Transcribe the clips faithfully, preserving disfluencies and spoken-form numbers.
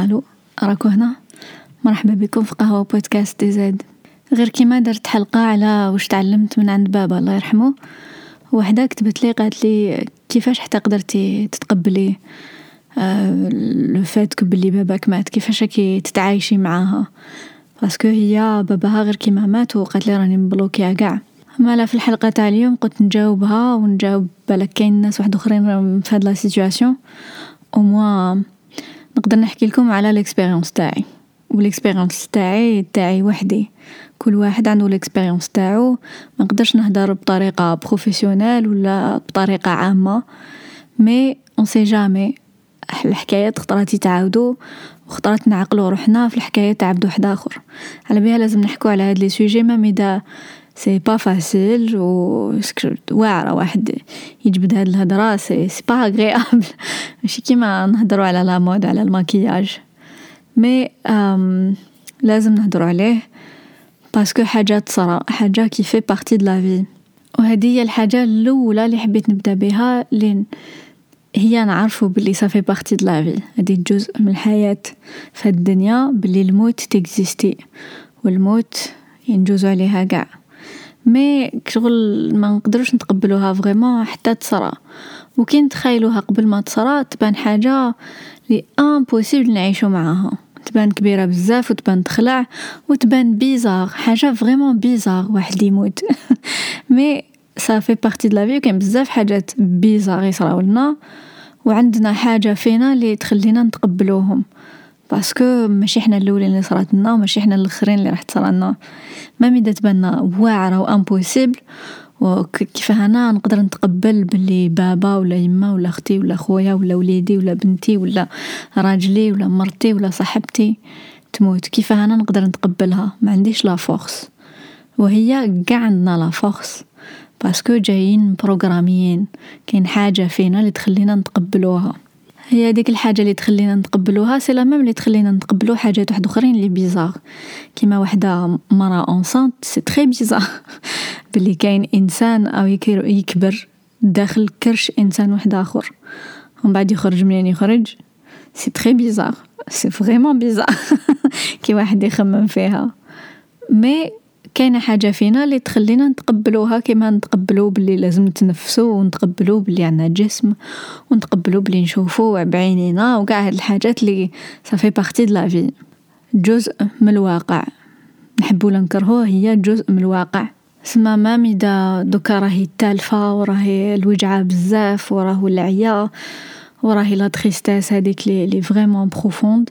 الو راكو هنا. مرحبا بكم في قهوة بودكاست دي زاد. غير كيما درت حلقة على واش تعلمت من عند بابا الله يرحمه، وحده كتبت لي قالت لي كيفاش حتى قدرتي تتقبلي آه لو فات بلي باباك مات، كيفاش كي تتعايشي معاها، باسكو هي باباها غير كيما مات وقالت لي راني مبلوكيه كاع. مالا في الحلقه تاع اليوم قلت نجاوبها ونجاوب بالك كاين ناس واحد اخرين في هاد لا سيتوياسيون، او موا نقدر نحكي لكم على الاكسبيريونس تاعي. والاكسبيريونس تاعي تاعي وحدي، كل واحد عنده الاكسبيريونس تاعو. ما نقدرش نهضر بطريقه بروفيسيونيل ولا بطريقه عامه، مي اون سي جامي الحكايات خطرات يتعاودوا وخطرات نعقلوا روحنا في الحكايه تاع عبد واحد اخر. على بها لازم نحكوا على هاد لي سوجي ما ميدا سي با فاسيل و واعره واحد يجبد هاد الهضره، سي سي با اغريابل، ماشي كيما نهضروا على لا مود على الماكياج، مي أم لازم نهضروا عليه باسكو حاجه تصرا، حاجه كي في بارتي د لا في. وهذه هي الحاجه الاولى اللي حبيت نبدا بها، لين هي نعرفوا باللي صافي بارتي د لا في، هذه جزء من الحياه في الدنيا، باللي الموت تيكزيستي والموت ينجوز عليها كاع. مي شغل ما نقدروش نتقبلوها فريمون حتى تصرا، وكي نتخيلوها قبل ما تصرا تبان حاجه لي امبوسيبل نعيشوا معاها، تبان كبيره بزاف وتبان تخلع وتبان بيزار، حاجه فريمون بيزار واحد يموت مي صافي بارتي د لا في. كاين بزاف حاجات بيزار يصراو لنا وعندنا حاجه فينا اللي تخلينا نتقبلوهم، باسكو ماشي حنا الاولين اللي صرات لنا وماشي حنا الاخرين اللي راح تصرا لنا. ما ميدا تباننا واعره وامبوسيبل، وكيف انا نقدر نتقبل باللي بابا ولا يما ولا اختي ولا خويا ولا وليدي ولا بنتي ولا راجلي ولا مرتي ولا صاحبتي تموت، كيف انا نقدر نتقبلها؟ ما عنديش لا فورس، وهي كاع عندنا لا فورس باسكو جايين بروغراميين. كاين حاجه فينا اللي تخلينا نتقبلوها، هي ديك الحاجه اللي تخلينا نتقبلوها سي لا ميم اللي تخلينا نتقبلوا حاجات واحد اخرين اللي بيزار، كيما وحده مرا اونسانت سي تري بيزار باللي كاين انسان او يكبر داخل كرش انسان واحد اخر ومن بعد يخرج منين يخرج، سي تري بيزار، سي فريمون بيزار كي واحد يخمم فيها. مي كاينه حاجه فينا اللي تخلينا نتقبلوها، كيما نتقبلوا باللي لازم نتنفسوا، ونتقبلوا باللي عندنا جسم، ونتقبلوا باللي نشوفوا بعينينا، وكاع هاد الحاجات اللي صافي بارتي د لا في، جزء من الواقع. نحبوا ولا نكرهوه هي جزء من الواقع. سما ما ميدا دوكا راهي تالفه وراهي الوجعه بزاف وراه العيا وراهي لا تريستاس هذيك لي لي فريمون بروفوند،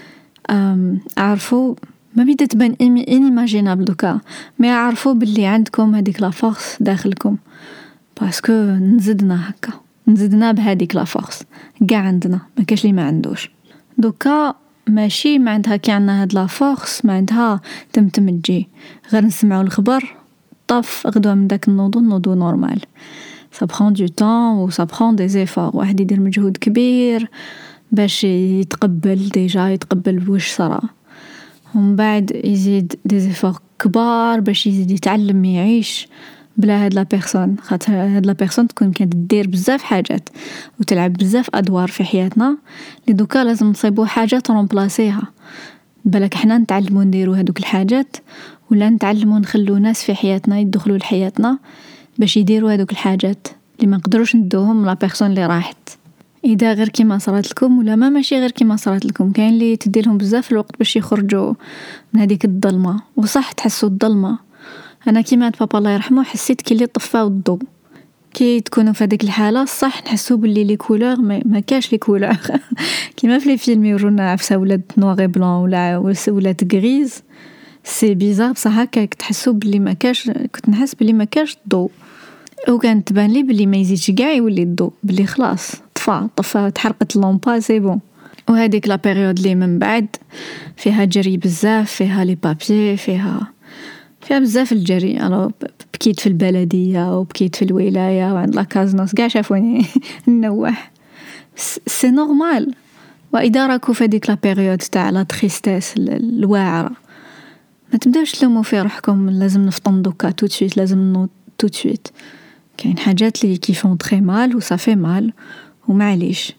اعرفوا ما ميدا تبان انيماجينابل دوكا، مي عارفوا باللي عندكم هذيك لا فورس داخلكم، باسكو نزدنا هكا، نزدنا بهذيك لا فورس كاع عندنا، ما كاش اللي ما عندوش. دوكا ماشي معناتها كي عندنا هاد لا فورس معناتها تمتم تجي غير نسمعوا الخبر طف غدوه من داك النوضو نوضو نورمال. ça prend du temps و ça prend des efforts، واحد يدير مجهود كبير باش يتقبل ديجا يتقبل واش صرا، ومن بعد يزيد دي زيفور كبار باش يزيد يتعلم يعيش بلا هاد لا بيرسون. خاطر هاد لا بيرسون تكون كانت دير بزاف حاجات وتلعب بزاف ادوار في حياتنا اللي دوكا لازم نصيبوا حاجه ترومبلاسيها. بالك احنا نتعلموا نديروا هذوك الحاجات ولا نتعلموا نخلو ناس في حياتنا يدخلوا لحياتنا باش يديروا هذوك الحاجات اللي ما نقدروش ندوهم لا بيرسون اللي راحت. اذا غير كيما صارت لكم ولا ما ماشي غير كيما صارت لكم، كاين اللي تديرهم بزاف الوقت باش يخرجوا من هذيك الظلمه، وصح تحسوا الظلمه. انا كيما بابا الله يرحمه حسيت كي اللي طفاو الضوء، كي تكونوا في هذيك الحاله صح نحسوا باللي لي كولور ما, ما كاش لي كولور كيما في لي فيلم يورونا عفسه ولات نوغ بلون ولا ولات غريز، سي بيزار بصح هكاك تحسوا باللي ما كاش، كنت نحس باللي ما كاش الضوء، وكانت تبان لي باللي ما يزيدش كاع يولي الضوء، باللي خلاص طفى طفى تحرقت اللامبا سي بون. وهذيك لا بيريود اللي من بعد فيها جري بزاف، فيها لي بابي، فيها فيها بزاف الجري. انا بكيت في البلديه وبكيت في الولايه وعند لا كازنوس كاع شافوني نوح، سي نورمال. واذا راكو في هذيك لا بيريود تاع لا تريستاس الواعره ما تبداوش تلوموا في روحكم لازم نفطن دوكا تو سويت، لازم نوض تو سويت. كاين حاجات اللي كيفون تري مال وصافي مال ومعليش،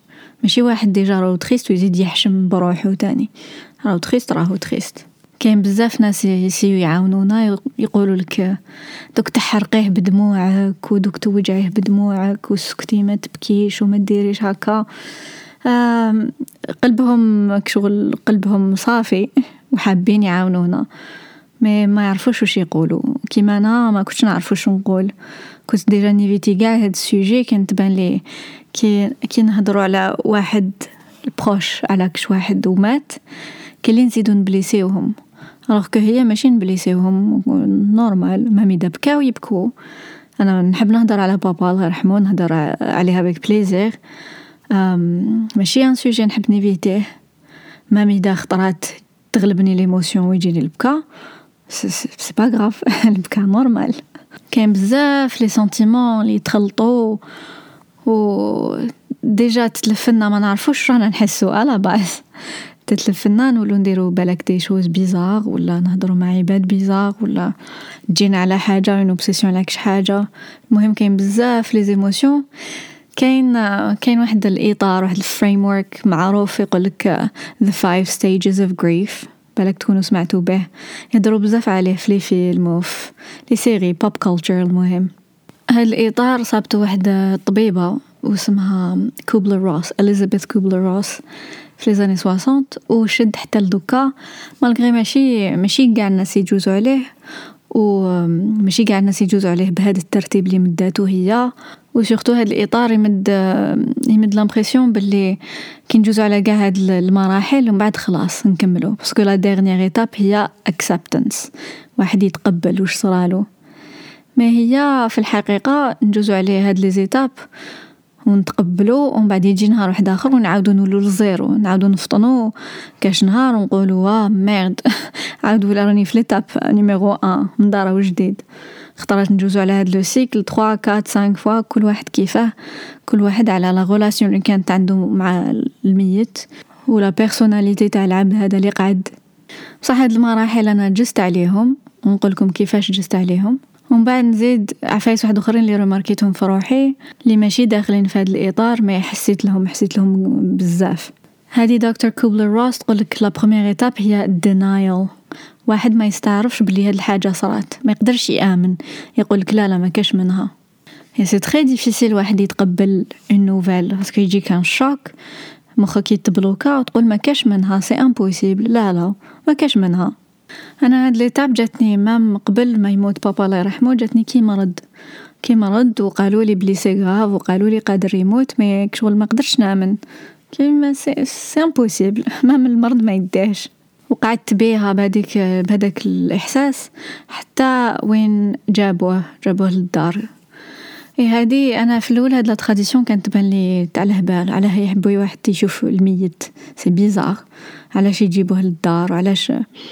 ماشي واحد ديجا راهو تريست ويزيد يحشم بروحو تاني، راهو تريست راهو تريست. كاين بزاف ناس يسيو يعاونونا، يقولوا لك دوك تحرقيه بدموعك ودوك توجعيه بدموعك وسكتي ما تبكيش وما ديريش هكا. قلبهم كشغل قلبهم صافي وحابين يعاونونا، ما ما يعرفوش واش يقولوا. كيما انا ما كنتش نعرف واش نقول، كنت ديجا نيفيتي كاع هاد السوجي. كان تبان لي كي كي نهضروا على واحد البروش على كش واحد ومات كاين اللي نزيدو نبليسيوهم، alors que هي ماشي نبليسيوهم نورمال. مامي دا بكاو يبكوا، انا نحب نهضر على بابا الله يرحمه، نهضر عليها بك بليزير، ماشي ان سوجي نحب نيفيتيه. مامي دا خطرات تغلبني ليموسيون ويجيني البكا، سي با غراف البكا نورمال. كاين بزاف لي سنتيمون اللي يتخلطوا و ديجا تتلفنا ما نعرفوش رانا نحسو على باس، تتلفنا نولو نديرو بالك دي شوز بيزار ولا نهضروا مع عباد بيزار ولا تجينا على حاجه اون اوبسيسيون على كش حاجه. المهم كاين بزاف لي ايموشن. كاين كاين واحد الاطار، واحد الفريم ورك معروف يقولك the five stages of grief، بالك تكونوا سمعتوا به، يهضروا بزاف عليه في لي فيلم وفي لي سيري بوب كولتشر. المهم هاد الاطار صابته واحده طبيبه واسمها كوبلر روس، اليزابيث كوبلر روس، في لي زاني سواسون، وشد حتى لدوكا مالغري ماشي ماشي كاع الناس يجوزوا عليه، وماشي كاع الناس يجوزوا عليه بهذا الترتيب اللي مداتو هي. وسورتو هاد الاطار يمد يمد لامبرسيون باللي كي نجوزوا على كاع هاد المراحل ومن بعد خلاص نكملوا، باسكو لا ديرنيير ايتاب هي اكسبتنس، واحد يتقبل واش صرالو. ما هي في الحقيقه نجوزوا عليه هاد لي زيتاب ونتقبلوا، ومن بعد يجي نهار واحد اخر ونعاودوا نولوا للزيرو، نعاودوا نفطنوا كاش نهار ونقولوا وا ميرد عاود ولا راني في ليتاب نيميرو واحد من دار جديد. خطرات نجوزوا على هاد لو سيكل ثلاثة أربعة خمسة فوا، كل واحد كيفاه، كل واحد على لا غولاسيون اللي كانت عنده مع الميت ولا بيرسوناليتي تاع العبد هذا اللي قعد. بصح هاد المراحل انا جست عليهم ونقول لكم كيفاش جست عليهم، ومن بعد نزيد عفايس واحد اخرين اللي رماركيتهم في روحي اللي ماشي داخلين في هذا الاطار، ما حسيت لهم حسيت لهم بزاف. هذه دكتور كوبلر روس تقول لك لا بروميير ايتاب هي الدينايل، واحد ما يستعرفش بلي هاد الحاجه صرات، ما يقدرش يامن، يقول لك لا لا ما كاش منها. هي سي تري ديفيسيل واحد يتقبل اون نوفيل، باسكو يجي كان شوك، مخك يتبلوكا وتقول ما كاش منها، سي امبوسيبل، لا لا ما كاش منها. انا هاد ليتاب جاتني مام قبل ما يموت بابا الله يرحمه، جاتني كي مرض كي مرض وقالوا لي بلي سي غراف وقالوا لي قادر يموت، ما كشغل ما قدرتش نامن، كيما سي سي امبوسيبل، مام المرض ما يديهش. وقعدت بيها بهذيك بهذاك الاحساس حتى وين جابوه جابوه للدار. اي هذه انا في الاول هاد لا تراديسيون كانت تبان لي تاع الهبال، علاه يحبوا واحد يشوف الميت، سي بيزار، علاش يجيبوه للدار، علاش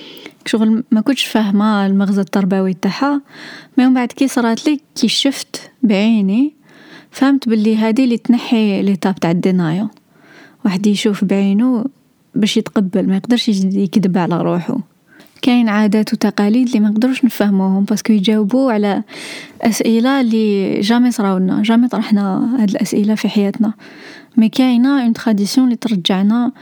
شغل ما كنتش فاهمه المغزى التربوي تاعها. ما يوم بعد كي صرات لي كي شفت بعيني فهمت باللي هذه اللي تنحي ليتاب تاع الدينايل، واحد يشوف بعينه باش يتقبل، ما يقدرش يكذب على روحه. كاين عادات وتقاليد اللي ما نقدروش نفهموهم باسكو يجاوبوا على اسئله اللي جامي صراولنا، جامي طرحنا هاد الاسئله في حياتنا. مي كاينه اون تراديسيون اللي ترجعنا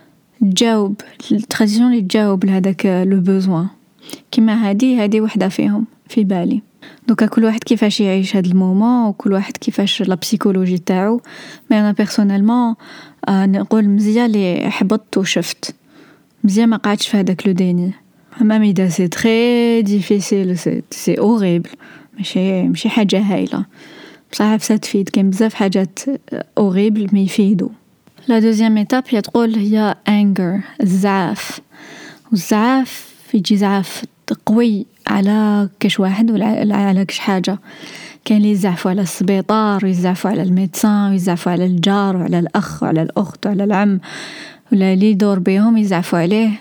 تجاوب، التراديسيون اللي تجاوب لهداك لو بوزوان. كيما هادي هادي وحده فيهم في بالي. دوكا كل واحد كيفاش يعيش هاد المومون وكل واحد كيفاش لا بسيكولوجي تاعو. مي انا بيرسونيلمون آه نقول مزيان اللي حبطت وشفت، مزيان ما قعدتش في هذاك لو ديني. مامي دا سي تري ديفيسيل، سي سي اوريبل، ماشي ماشي حاجه هايله بصح فساد تفيد. كاين بزاف حاجات اوريبل ما يفيدوا. لا دوزيام ايتاب هي تقول هي انجر، الزعاف. والزعاف يجي زعاف قوي على كش واحد ولا على كش حاجه. كاين اللي يزعفوا على السبيطار ويزعفوا على الميدسان ويزعفوا على الجار وعلى الاخ وعلى الاخت وعلى العم ولا اللي يدور بهم يزعفوا عليه.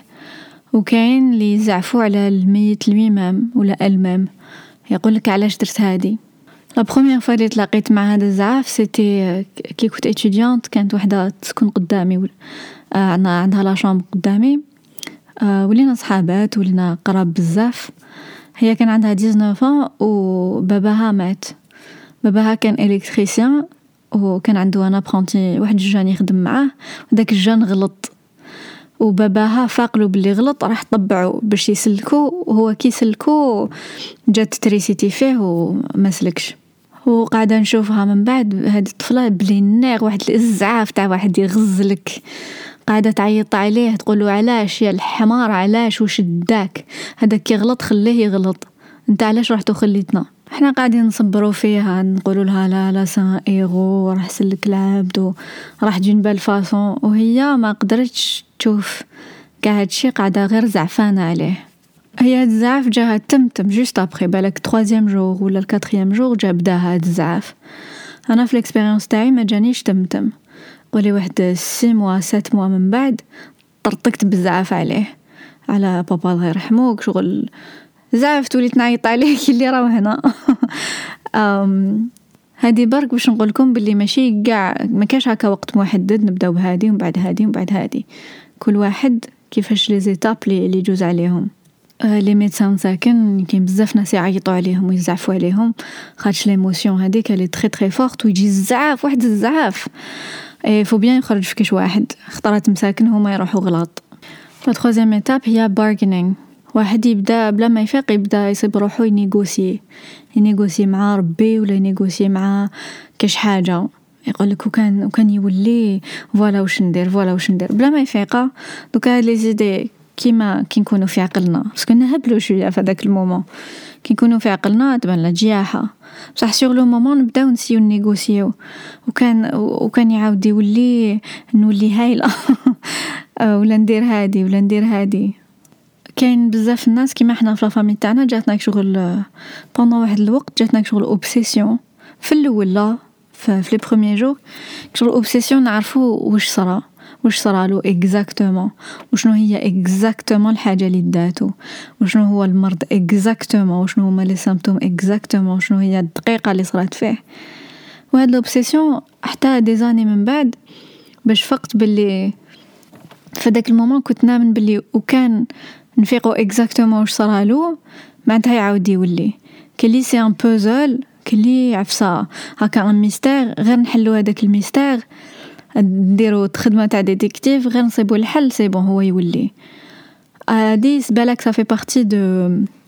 وكاين اللي يزعفوا على الميت الميمام ولا المام، يقول لك علاش درت هادي. لا بروميير فوا اللي تلاقيت مع هذا الزعاف سيتي كي كنت اتيديانت، كانت وحده تسكن قدامي و... آه عندها لا شامبر قدامي، آه ولينا صحابات ولينا قراب بزاف. هي كان عندها تسعطاش وباباها مات. باباها كان الكتريسيان وكان عنده انا برونتي واحد الجان يخدم معاه، وداك الجان غلط وباباها فاقلو باللي غلط، راح طبعوا باش يسلكو، وهو كي سلكو جات تريسيتي فيه وما سلكش. وقاعده نشوفها من بعد هذه الطفله بلي الناغ واحد الازعاف تاع واحد يغزلك، قاعده تعيط عليه تقوله علاش يا الحمار، علاش وش داك، هذاك كي غلط خليه يغلط، انت علاش رحتو خليتنا. احنا قاعدين نصبروا فيها نقولوا لها لا لا سان ايغو راح سلك العبد وراح جين بالفاصون، وهي ما قدرتش تشوف كاع هادشي، قاعده غير زعفانه عليه. هي الزعف جاها تمتم جوست ابري بالك تروازيام جور ولا الكاتريام جور جا بدا هاد الزعف. انا في الاكسبيريونس تاعي ما جانيش تمتم، قولي واحد سي موا سات موا من بعد طرطقت بالزعف عليه، على بابا الله يرحمه، شغل زعفت وليت نعيط عليه كي اللي راهو هنا. ام هادي برك باش نقول لكم باللي ماشي كاع ما كاش هكا وقت محدد نبداو بهادي ومن بعد هادي ومن بعد هادي، كل واحد كيفاش لي زيتاب لي اللي يجوز عليهم. آه لي ميدسان ساكن كاين بزاف ناس يعيطوا عليهم ويزعفوا عليهم خاطش ليموسيون هذيك اللي تري تري فورت، ويجي الزعاف واحد الزعاف اي فو بيان يخرج في كاش واحد خطرات مساكن هما يروحوا غلط. لا تروازيام ايتاب هي بارغينينغ، واحد يبدا بلا ما يفيق يبدا يصيب روحو ينيغوسي ينيغوسي مع ربي ولا ينيغوسي مع كاش حاجه، يقول لك وكان وكان يولي فوالا واش ندير فوالا واش ندير بلا ما يفيق. دوكا هاد لي زيدي كيما كي نكونوا في عقلنا باسكو نهبلوا شويه في هذاك المومون، كي نكونوا في عقلنا تبان لا جياحه، بصح سور لو مومون نبداو نسيو نيغوسيو، وكان وكان يعاود يولي نولي هايله ولا ندير هادي ولا ندير هادي. كاين بزاف الناس كيما حنا في لافامي تاعنا جاتنا شغل بوندون واحد الوقت جاتنا شغل اوبسيسيون في الاول لا في لي بروميير جور شغل اوبسيسيون نعرفوا واش صرا واش صرالو اكزاكتومون، وشنو هي اكزاكتومون الحاجه اللي داتو، وشنو هو المرض اكزاكتومون، وشنو هما لي سيمبتوم اكزاكتومون، شنو هي الدقيقه اللي صرات فيه. وهاد الاوبسيسيون حتى دي زاني من بعد باش فقت باللي في داك المومون كنت نامن باللي وكان نفيقوا اكزاكتومون واش صرالو معناتها يعاود يولي كلي سي ان بوزل كلي عفسه هكا ان ميستير، غير نحلوا هذاك الميستير نديرو خدمه تاع ديتيكتيف غير نصيبوا الحل سي بون هو يولي. هادي بالك صافي بارتي دو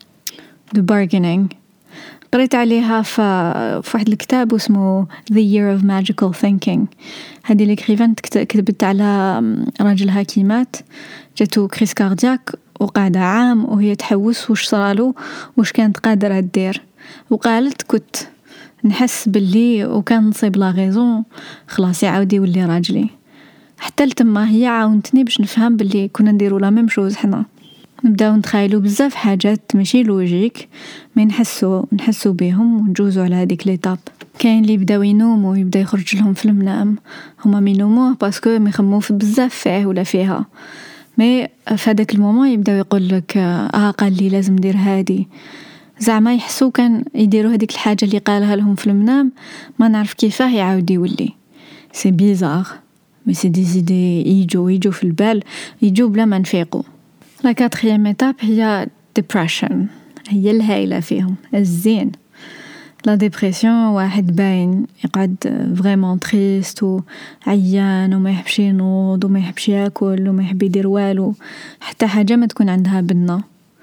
دو بارغينينغ، قريت عليها في واحد الكتاب اسمه The Year of Magical Thinking. هذه الكريفان كتبت على راجل حكيمات جاتو كريس كاردياك وقاعدة عام وهي تحوس واش صرالو واش كانت قادرة تدير، وقالت كنت نحس باللي وكان نصيب لا غيزون خلاص يعاود يولي راجلي. حتى لتما هي عاونتني باش نفهم باللي كنا نديرو لا ميم شوز، حنا نبداو نتخيلوا بزاف حاجات ماشي لوجيك مي نحسوا نحسوا بهم ونجوزوا على هذيك ليتاب. كاين اللي بداو ينوموا يبدا يخرج لهم في المنام، هما مينوموه باسكو ميخمو في بزاف فيه ولا فيها، مي في هذاك المومون يبداو يقول لك اه قال لي لازم ندير هادي، زعما يحسوا كان يديروا هذيك الحاجه اللي قالها لهم في المنام ما نعرف كيفاه يعاود يولي. سي بيزار مي سي دي زيدي يجوا يجوا في البال يجوا بلا ما نفيقوا. لا كاتريام ايتاب هي depression، هي الهايله فيهم الزين. لا ديبرسيون واحد باين يقعد فريمون تريست وعيان وما يحبش ينوض وما يحبش ياكل وما يحب يدير والو، حتى حاجه ما تكون عندها بنه.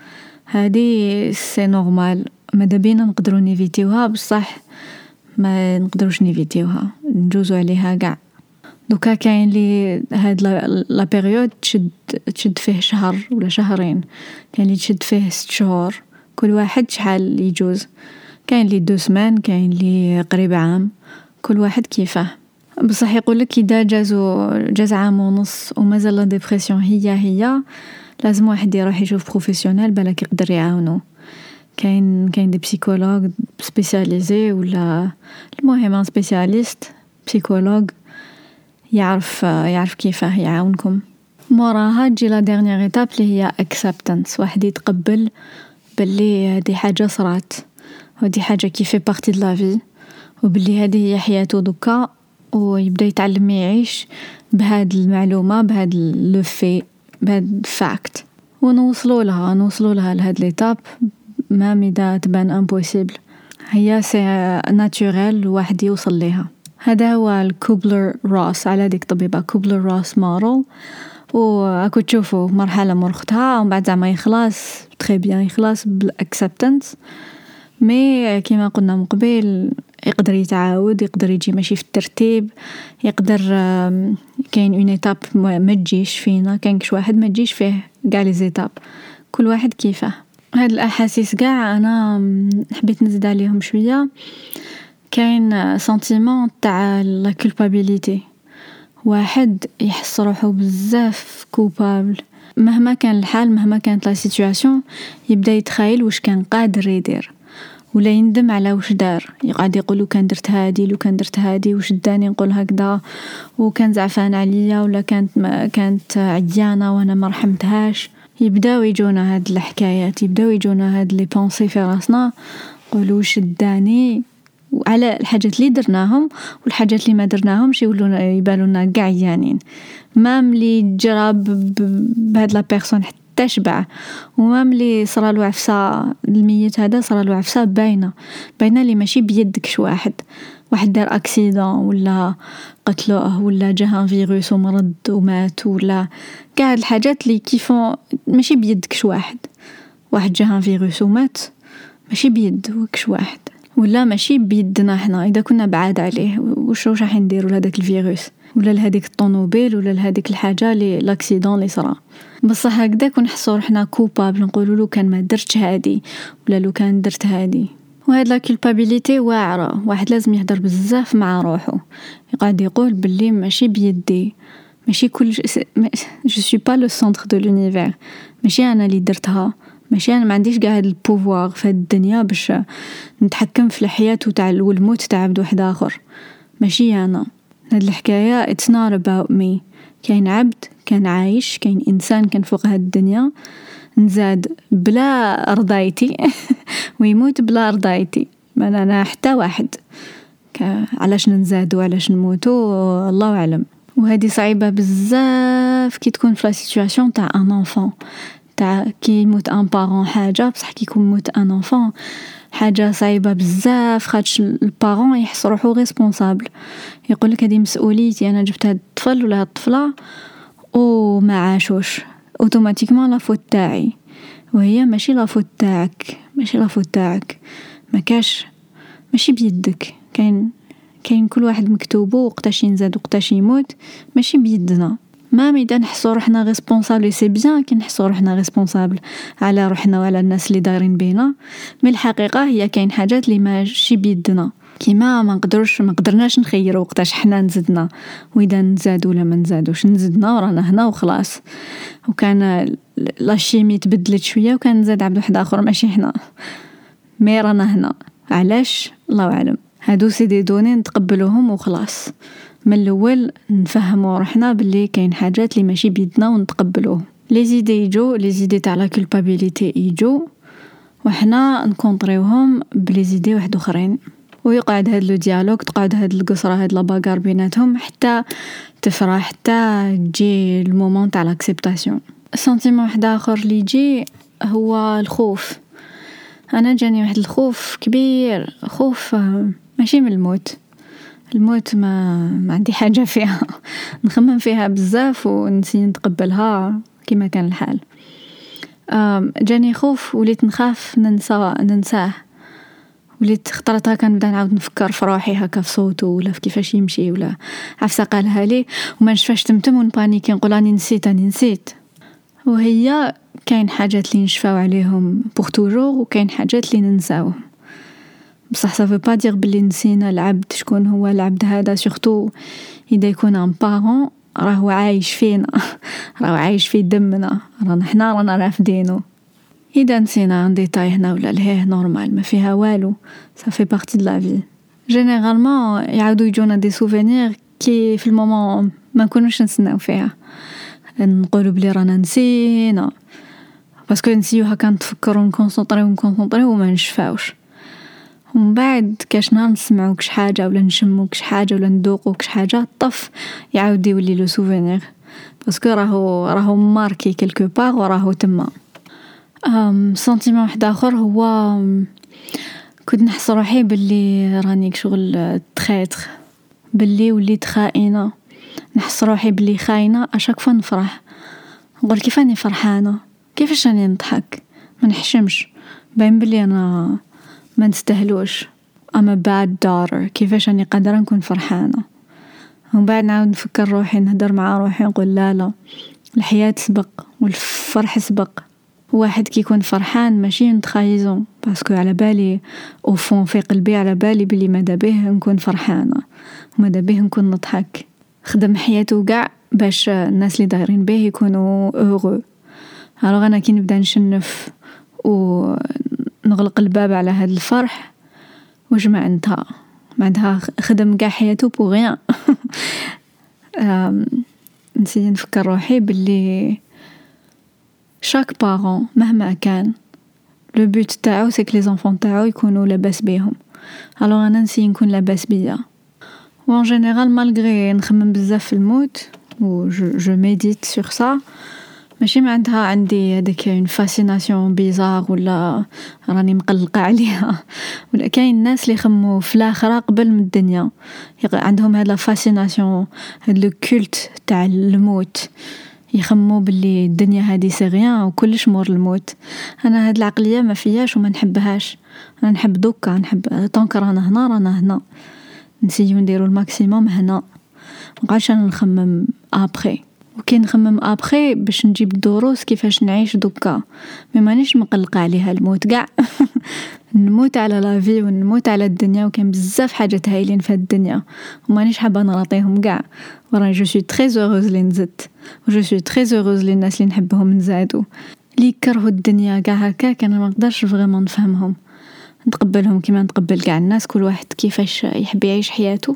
هذه سي نورمال، ماذا بينا نقدروا نيفيتيوها بصح ما نقدروش نيفيتيوها نجوزوا عليها كاع. دوكا كاين لي هاد لا بيريود تشد تشد فيه شهر ولا شهرين، كاين لي تشد فيه ست شهور، كل واحد شحال يجوز، كاين لي دو سمان، كاين لي قريب عام، كل واحد كيفاه. بصح يقول لك اذا جازو جاز عام ونص ومازال لا ديبرسيون هي هي لازم واحد يروح يشوف بروفيسيونيل بالك يقدر يعاونو. كاين كاين دي بسيكولوج سبيسياليزي ولا المهم سبيسياليست بسيكولوج يعرف يعرف كيفاه يعاونكم. موراها تجي لا ديرنيير ايتاب اللي هي اكسبتانس، واحد يتقبل باللي هذه حاجه صرات ودي حاجه كيف بارتي دو لا في، وباللي هذه هي حياته دوكا، ويبدا يتعلم يعيش بهاد المعلومه بهاد لو في بهاد فاكت، ونوصلوا لها نوصلوا لها لهاد ليتاب ما ميدا تبان امبوسيبل، هي سي ناتوريل واحد يوصل ليها. هذا هو الكوبلر روس، على ديك طبيبة كوبلر روس مارل. وأكو تشوفوا مرحلة مرختها ومن بعد زعما يخلص تري بيان، يخلص بالاكسبتنس. مي كيما قلنا من قبل يقدر يتعاود، يقدر يجي ماشي في الترتيب، يقدر كاين اون ايتاب ما تجيش فينا، كاين كش واحد ما تجيش فيه كاع لي زيتاب، كل واحد كيفه. هاد الاحاسيس كاع انا حبيت نزيد عليهم شويه. كاين سنتيمون تاع لا كولبابيليتي، واحد يحس روحو بزاف كوبابل مهما كان الحال، مهما كانت لا سيتوياسيون، يبدا يتخيل واش كان قادر يدير ولا يندم على واش دار. يقعد يقول لو كان درت هادي، لو كان درت هادي واش داني نقول هكذا، وكان زعفان عليا، ولا كانت ما كانت عيانه وانا ما رحمتهاش. يبداو يجونا هاد الحكايات، يبداو يجونا هاد لي بونسي في راسنا، نقولوا واش داني على الحاجات اللي درناهم والحاجات اللي ما درناهمش يولونا يبالونا كاع عيانين. مام لي جرب بهاد لا بيرسون حتى شبع، ومام لي صرالو عفسه الميت هذا صرالو عفسه باينه باينه اللي ماشي بيدكش، واحد واحد دار اكسيدون ولا قتلوه ولا جاه فيروس ومرض ومات، ولا كاع الحاجات اللي كيفون ماشي بيدكش. واحد واحد جاه فيروس ومات ماشي بيدكش واحد، ولا ماشي بيدنا حنا اذا كنا بعاد عليه واش واش راح نديروا لهذاك الفيروس ولا لهذيك الطوموبيل ولا لهذيك الحاجه اللي لاكسيدون اللي صرا. بصح هكذا كنحسوا روحنا كوبابل، نقولوا له كان ما درتش هادي ولا لو كان درت هادي. وهاد لا كولبابيليتي واعره، واحد لازم يهدر بزاف مع روحو، يقعد يقول باللي ماشي بيدي، ماشي كل جو سوي با لو سونتر دو لونيفير، ماشي انا اللي درتها، ماشي انا ما عنديش كاع هاد البوفوار في الدنيا باش نتحكم في الحياه تاع والموت تاع عبد واحد اخر، ماشي انا. هاد الحكايه it's not about me. كاين عبد كان عايش، كاين انسان كان فوق هاد الدنيا نزاد بلا رضايتي ويموت بلا رضايتي، ما انا حتى واحد. علاش نزادو علاش نموتو الله اعلم. وهذه صعيبه بزاف كي تكون في لا سيتوياسيون تاع ان انفون، تاع كي يموت ان بارون حاجه، بصح كي يكون موت ان انفون حاجه صعيبه بزاف، خاطش البارون يحس روحو ريسبونسابل، يقول لك هذه مسؤوليتي، انا جبت هذا الطفل ولا هذه الطفله وما عاشوش، اوتوماتيكمون لا فوت تاعي، وهي ماشي لا فوت تاعك، ماشي لا فوت تاعك، ما كاش ماشي بيدك. كاين كاين كل واحد مكتوبه وقتاش ينزاد وقتاش يموت، ماشي بيدنا. ما ميدا نحسو روحنا ريسبونسابل، سي بيان كي نحسو روحنا ريسبونسابل على روحنا وعلى الناس اللي دايرين بينا، مي الحقيقه هي كاين حاجات اللي ماشي بيدنا، كيما ما نقدرش ما قدرناش نخيروا وقتاش حنا نزدنا، واذا نزاد ولا ما نزادوش، نزدنا ورانا هنا وخلاص. وكان لاشيمي تبدلت شويه وكان نزاد عبد واحد اخر ماشي حنا، مي رانا هنا علاش الله اعلم. هادو سي دي دوني نتقبلوهم وخلاص، من الاول نفهموا روحنا باللي كاين حاجات اللي ماشي بيدنا ونتقبلوه. لي زيدي يجو، لي زيدي تاع لا كولبابيليتي يجو، وحنا نكونطريوهم بلي زيدي واحد اخرين، ويقعد هاد لو ديالوج، تقعد هاد القصره هاد لا باغار بيناتهم حتى تفرح، حتى تجي المومون تاع لاكسبتاسيون. سنتيمون واحد اخر اللي يجي هو الخوف. انا جاني واحد الخوف كبير، خوف ماشي من الموت، الموت ما ما عندي حاجه فيها نخمم فيها بزاف ونسي نتقبلها كما كان الحال. جاني خوف وليت نخاف ننسى ننساه، وليت خطرت هكا نبدا نعاود نفكر في روحي هكا في صوته ولا في كيفاش يمشي ولا عفسه قالها لي وما نشفاش تمتم ونبانيكي نقول راني نسيت راني نسيت. وهي كاين حاجات اللي نشفاو عليهم بوغ توجور وكاين حاجات اللي ننساوهم، بصح صافي با دير بلي نسينا العبد شكون هو العبد هذا، سورتو اذا يكون ان بارون راهو عايش فينا راهو عايش في دمنا، رانا حنا رانا رافدينو. اذا نسينا عن ديتاي هنا ولا لهيه نورمال ما فيها والو، صافي بارتي دو لا في. جينيرالمون يعاودوا يجونا دي سوفينير كي في المومون ما نكونوش نسناو فيها، نقولوا بلي رانا نسينا باسكو نسيو هكا نتفكروا نكونسونطريو نكونسونطريو وما نشفاوش، ومن بعد كاش نهار نسمعوا كش حاجه ولا نشموا كش حاجه ولا ندوقوا كش حاجه طف يعاود يولي لو سوفينير، باسكو راهو راهو ماركي كلكو بار وراهو تما. ام سنتيمون واحد اخر هو كنت نحس روحي باللي راني شغل تخيتر، باللي وليت خائنة، نحس روحي باللي خاينة اشاك فوا نفرح، نقول كيف راني فرحانة، كيفاش راني نضحك، ما نحشمش، باين بلي انا ما نستاهلوش. I'm a bad daughter. كيفاش راني قادرة نكون فرحانة؟ ومن بعد نعاود نفكر روحي، نهدر مع روحي، نقول لا لا، الحياة سبق والفرح سبق. واحد كي يكون فرحان ماشي نتخايزون، باسكو على بالي او فون في قلبي، على بالي بلي ماذا به نكون فرحانة وماذا به نكون نضحك. خدم حياته كاع باش الناس اللي دايرين به يكونوا heureux. alors انا كي نبدا نشنف ونغلق الباب على هذا الفرح، واش معناتها؟ معناتها خدم كاع حياته بو غيان. نسيت نفكر روحي باللي شاك بارون مهما كان لو بوت تاعو سي كو لي زونفون تاعو يكونوا لاباس بيهم. alors انا نسي نكون لاباس بيا. وان جينيرال مالغري نخمم بزاف في الموت و جو جو ميديت سور سا، ماشي معناتها عندي هذيك اون فاسيناسيون بيزار ولا راني مقلقه عليها، ولا كاين الناس اللي يخموا في الاخره قبل من الدنيا، عندهم هذا لا فاسيناسيون، هذا لو كولت تاع الموت، يخموا باللي الدنيا هذه سي غيان وكلش مور الموت. انا هاد العقليه ما فياش وما نحبهاش، انا نحب دوكا، نحب طونك رانا هنا رانا هنا، نسيو نديرو الماكسيموم هنا، مابقاش انا نخمم ابري. وكي نخمم ابري باش نجيب الدروس كيفاش نعيش دوكا، مي مانيش مقلقه عليها الموت كاع. نموت على لا في ونموت على الدنيا، وكان بزاف حاجات هايلين في الدنيا ومانيش حابه نراطيهم كاع. وراني جو سوي تري هوروز لي نزدت، و جو سوي تري هوروز لي الناس اللي نحبهم نزادوا، لي كرهوا الدنيا كاع هكا انا ما نقدرش فريمون نفهمهم، نتقبلهم كيما نتقبل كاع الناس، كل واحد كيفاش يحب يعيش حياته،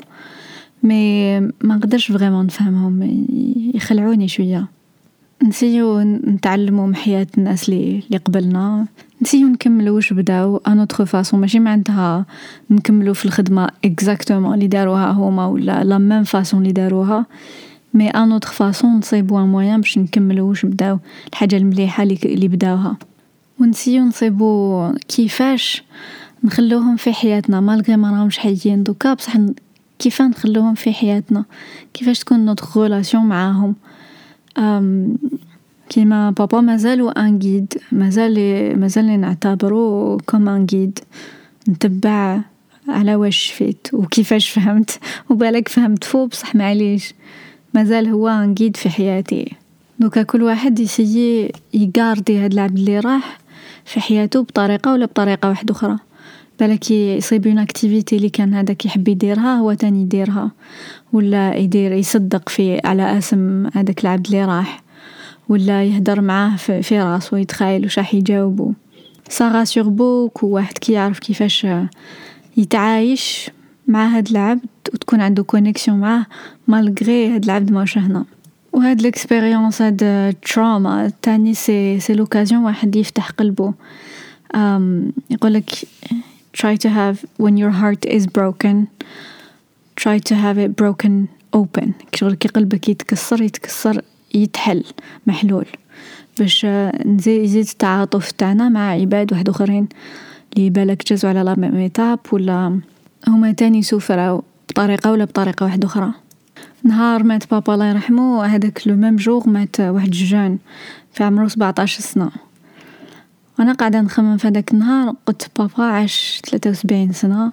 مي ما نقدرش فريمون نفهمهم، يخلعوني شويه. نسيو نتعلموا من حياة الناس اللي اللي قبلنا، نسيو نكملوا واش بداو ان اوتر فاصون، ماشي معناتها نكملوا في الخدمه اكزاكتومون اللي داروها هما ولا لا ميم فاصون اللي داروها، مي ان اوتر فاصون نصيبوا ان موين باش نكملوا واش بداو، الحاجه المليحه اللي اللي بداوها، ونسيو نصيبوا كيفاش نخلوهم في حياتنا مالغري ما راهمش حيين دوكا، بصح كيف نخلوهم في حياتنا، كيفاش تكون نوتر ريلاسيون معاهم. أم كيما بابا مازالوا ان غيد، مازال مازال نعتبره كوم ان غيد، نتبع على واش شفيت وكيفاش فهمت، وبالك فهمت فوق بصح معليش، مازال هو ان غيد في حياتي. دوكا كل واحد يسيي يغاردي هاد العبد اللي راح في حياته بطريقه ولا بطريقه واحده اخرى، بالك يصيب اون اكتيفيتي اللي كان هذاك يحب يديرها هو تاني يديرها، ولا يدير يصدق في على اسم هذاك العبد اللي راح، ولا يهدر معاه في, في راسه ويتخيل واش راح يجاوبه. سا راسور بوكو واحد كي يعرف كيفاش يتعايش مع هاد العبد وتكون عنده كونيكسيون معاه مالغري هاد العبد ماش هنا. وهاد الاكسبيريونس هاد التراما تاني سي سي لوكازيون واحد يفتح قلبه. um, يقولك try to have when your heart is broken try to have it broken open. كي قلبك يتكسر يتكسر يتحل محلول، باش نزيد يزيد التعاطف تاعنا مع عباد واحد اخرين اللي بالك جازوا على لا ميم ايتاب ولا هما تاني سوفراو بطريقه ولا بطريقه واحده اخرى. نهار مات بابا الله يرحمه، هذاك لو ميم جور مات واحد جون في عمره سبعطاش سنه، وانا قاعده نخمم في هذاك النهار، قلت بابا عاش ثلاثة وسبعين سنه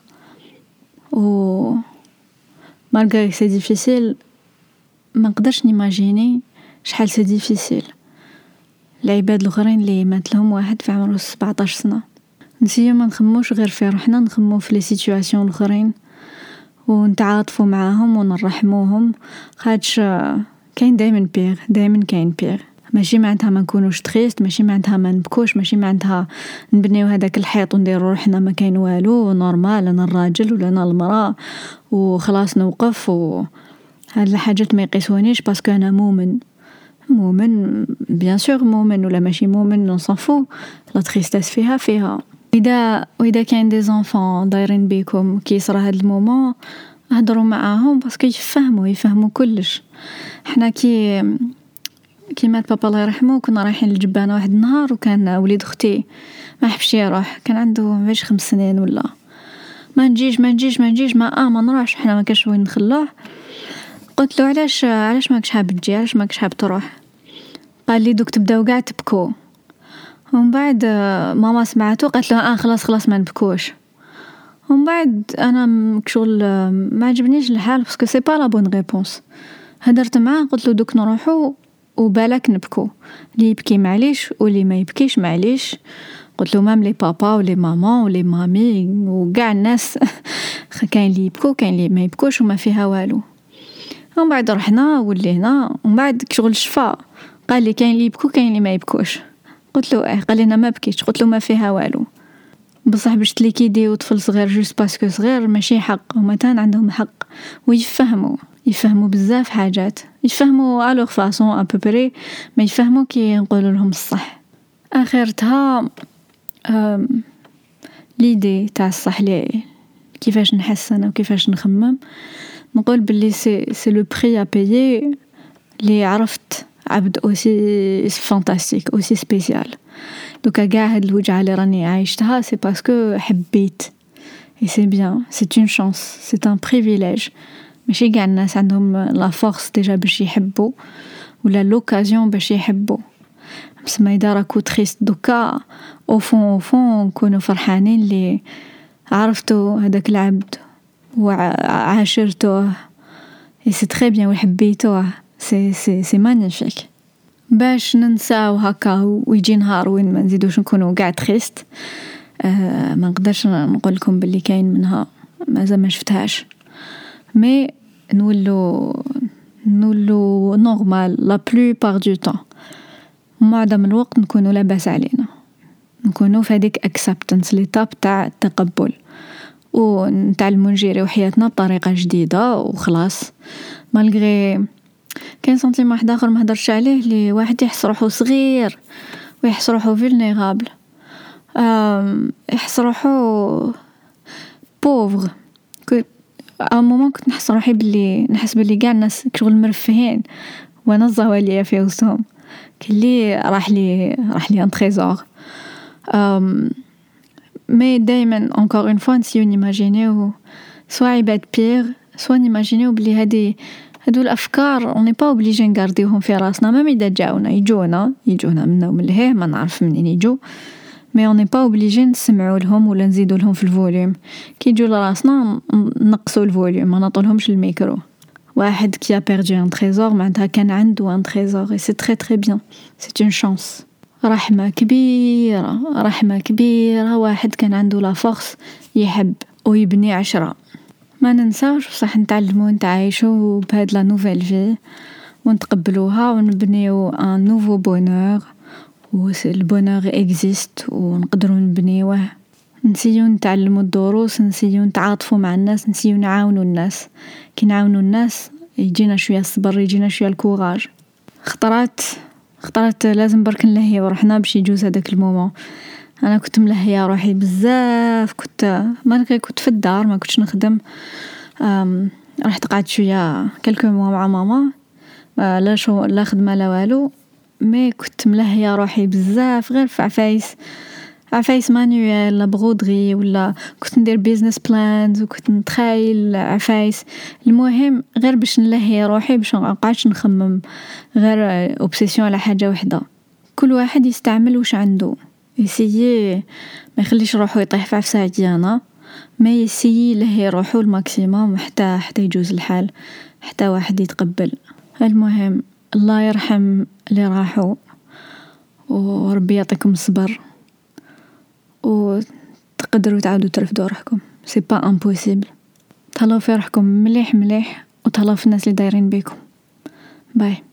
و مالغري سي ديفيسيل، ما نقدرش نيماجيني شحال سي ديفيسيل العباد الاخرين اللي مات لهم واحد في عمره سبعطاش سنه. نسيو ما نخموش غير في روحنا، نخمو في لي سيتوياسيون الاخرين ونتعاطفوا معاهم ونرحموهم، خاطش كاين دائما بير، دائما كاين بير. ماشي معناتها ما نكونوش تريست، ماشي معناتها ما نبكوش، ماشي معناتها نبنيو هذاك الحيط ونديروا روحنا ما كاين والو نورمال، انا الراجل ولا انا المراه وخلاص نوقف، و هاد الحاجات ما يقيسونيش باسكو انا مؤمن. مؤمن بيان سور مؤمن ولا ماشي مؤمن نصفو، لا تريستاس فيها فيها. اذا واذا كاين دي زونفون دايرين بيكم كي يصرى هاد المومون، هضروا معاهم باسكو يفهموا يفهموا كلش. احنا كي كي مات بابا الله يرحمه كنا رايحين للجبانه واحد النهار، وكان وليد اختي ما حبش يروح، كان عنده مش خمس سنين ولا ما نجيش ما نجيش ما نجيش ما اه ما نروحش، حنا ما كاش وين نخلوه. قلت له علاش علاش ماكش حاب تجي، علاش ماكش حاب تروح؟ قال لي دوك تبداو كاع تبكوا. ومن بعد ماما سمعته قالت له اه خلاص خلاص ما نبكوش. ومن بعد انا كشغل ما عجبنيش الحال باسكو سي با لا بون ريبونس. هدرت معاه قلت له دوك نروحوا وبالك نبكو، اللي يبكي معليش واللي ما يبكيش معليش. قلت له مام لي بابا ولي ماما ولي مامي وكاع الناس كاين اللي يبكو كاين اللي ما يبكوش وما فيها والو. ومن بعد رحنا ولينا ومن بعد كشغل شفا قال لي كاين اللي يبكو كاين اللي ما يبكوش. قلت له اه. قال لي انا ما بكيتش. قلت له ما فيها والو، بصح باش تليكيدي طفل صغير جوست باسكو صغير ماشي حق، هما تان عندهم حق ويفهموا يفهموا بزاف حاجات، يفهموا الوغ فاصون ا بوبري، ما يفهموا كي نقول لهم الصح. اخرتها ليدي تاع الصح لي كيفاش نحس انا وكيفاش نخمم، نقول باللي سي سي لو بري ا بايي لي عرفت عبد اوسي فانتاستيك اوسي سبيسيال. دوكا كاع هاد الوجعه اللي راني عايشتها سي باسكو حبيت، اي سي بيان، سي اون شانس، سي ان بريفيليج. ماشي كاع الناس عندهم لا فورس ديجا باش يحبوا ولا لوكازيون باش يحبوا. بس ما اذا راكو تريست دوكا او فون او فون نكونوا فرحانين اللي عرفتوا هذاك العبد وعاشرتوه، اي سي تري بيان وحبيتوه، سي سي سي مانيفيك. باش ننساو هكا ويجي نهار وين ما نزيدوش نكونوا كاع تريست، آه ما نقدرش نقول لكم باللي كاين منها مازال ما شفتهاش، مي نولو نولو نورمال لا بلوبار دو طون. معظم الوقت نكونوا لاباس علينا، نكونوا في هذيك اكسبتنس ليتاب تاع التقبل، ونتعلموا نجيريو حياتنا بطريقه جديده وخلاص. مالغري كاين سنتيم واحد اخر ما هضرش عليه، اللي واحد يحس روحو صغير ويحس روحو فولنيرابل، يحس روحو بوفر. كنت ا مومون كنت نحس روحي باللي نحس باللي كاع الناس كشغل مرفهين وانا الزواليه في وسطهم، كلي راح لي راح لي ان تريزور. ام مي دائما encore une fois نسيو نيماجينيو سوا عباد بير، سوا نيماجينيو بلي هادي هادو الافكار اون ني با اوبليجي نغارديوهم في راسنا. ما اذا جاونا يجونا يجونا منا ومن لهيه ما نعرف منين يجو، مي اون ني با اوبليجي نسمعوا لهم ولا نزيدوا لهم في الفوليوم. كي يجوا لراسنا نقصوا الفوليوم، ما نعطولهمش الميكرو. واحد كي ا بيردي ان تريزور معناتها كان عنده ان تريزور، سي تري تري بيان، سي اون شانس. رحمه كبيره رحمه كبيره، واحد كان عنده لا فورس يحب ويبني عشرة. ما ننساوش بصح نتعلموا نتعايشوا بهاد لا نوفيل في ونتقبلوها ونبنيو ان نوفو بونور، و البونور اكزيست ونقدروا نبنيوه. نسيو نتعلموا الدروس، نسيو نتعاطفوا مع الناس، نسيو نعاونوا الناس. كي نعاونوا الناس يجينا شويه الصبر، يجينا شويه الكوراج. خطرات خطرات لازم برك نلهيو روحنا باش يجوز هذاك المومون. انا كنت ملهيه روحي بزاف، كنت ما كنت في الدار ما كنتش نخدم. رحت قعدت شويه كلكو موا مع ماما، لا شو لا خدمه لا والو، مي كنت ملهيه روحي بزاف غير في عفايس عفايس مانيوال لا برودري، ولا كنت ندير بيزنس بلانز وكنت نتخيل عفايس. المهم غير باش نلهي روحي باش ما نبقاش نخمم غير اوبسيسيون على حاجه وحده. كل واحد يستعمل واش عنده، يسيي ما يخليش روحو يطيح في عفسه عديانه، ما يسيي يلهي روحو الماكسيموم حتى حتى يجوز الحال، حتى واحد يتقبل. المهم الله يرحم اللي راحوا، وربي يعطيكم الصبر، وتقدروا تعاودوا ترفدوا روحكم. سي با امبوسيبل. تهلاو في روحكم مليح مليح، وتهلاو في الناس اللي دايرين بيكم. باي.